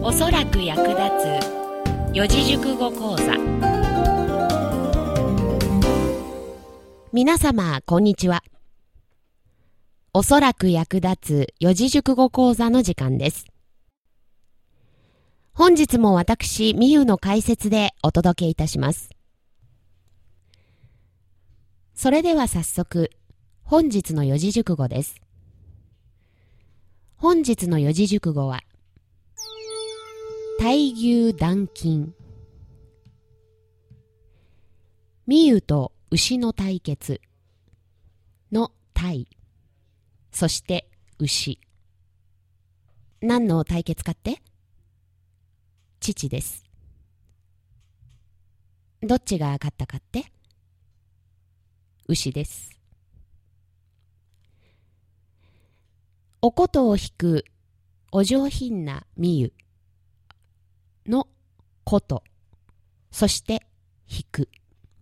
おそらく役立つ四字熟語講座。皆様こんにちは。おそらく役立つ四字熟語講座の時間です。本日も私みゆの解説でお届けいたします。それでは早速本日の四字熟語です。本日の四字熟語は対牛断金。みゆと牛の対決の対、そして牛。何の対決かって？父です。どっちが勝ったかって？牛です。お琴を弾くお上品なみゆの琴、そして弾く。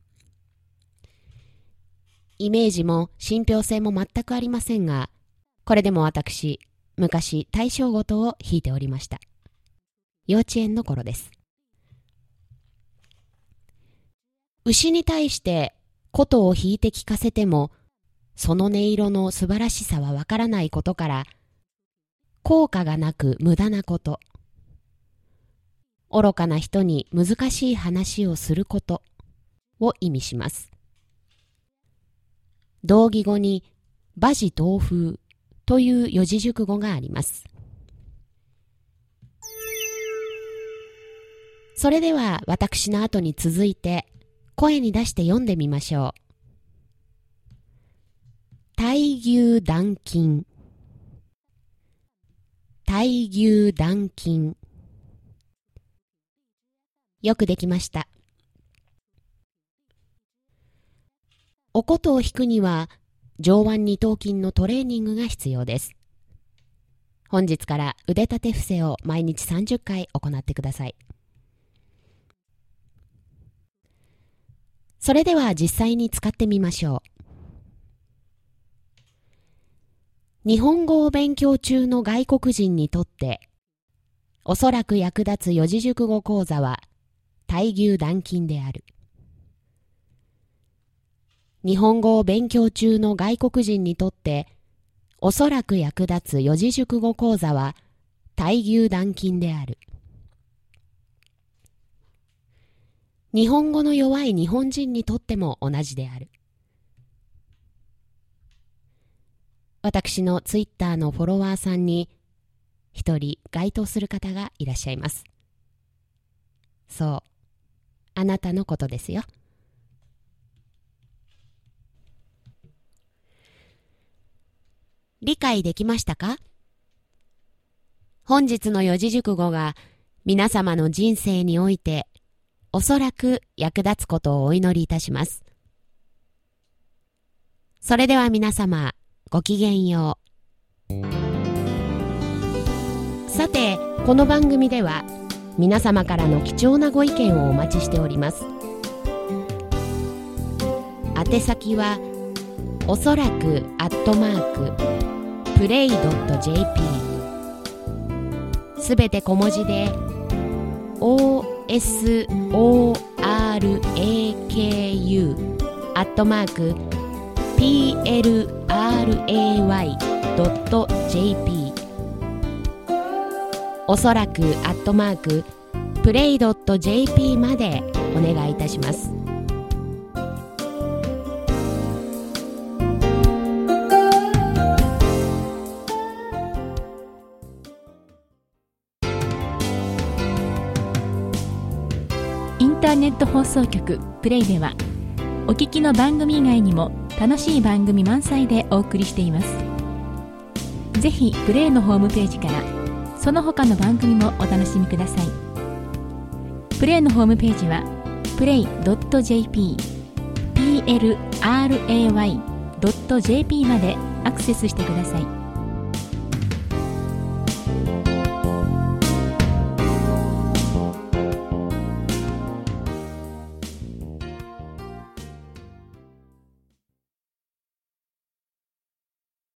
イメージも信憑性も全くありませんが、これでも私、昔大正琴を弾いておりました。幼稚園の頃です。牛に対して琴を弾いて聞かせても、その音色の素晴らしさはわからないことから、効果がなく無駄なこと、愚かな人に難しい話をすることを意味します。同義語に馬耳東風という四字熟語があります。それでは私の後に続いて声に出して読んでみましょう。対牛断金。対牛断金。よくできました。お琴を弾くには上腕二頭筋のトレーニングが必要です。本日から腕立て伏せを毎日30回行ってください。それでは実際に使ってみましょう。日本語を勉強中の外国人にとっておそらく役立つ四字熟語講座は対牛断金である。日本語を勉強中の外国人にとっておそらく役立つ四字熟語講座は対牛断金である。日本語の弱い日本人にとっても同じである。私のツイッターのフォロワーさんに一人該当する方がいらっしゃいます。そう、あなたのことですよ。理解できましたか？本日の四字熟語が皆様の人生においておそらく役立つことをお祈りいたします。それでは皆様、ごきげんよう。さて、この番組では皆様からの貴重なご意見をお待ちしております。宛先はおそらく@play.jp すべて小文字で OSORAKU@play.jp おそらく@play.jp までお願いいたします。 インターネット放送局プレイではお聞きの番組以外にも楽しい番組満載でお送りしています。ぜひプレイのホームページからその他の番組もお楽しみください。プレイのホームページは play.jp plray.jp までアクセスしてください。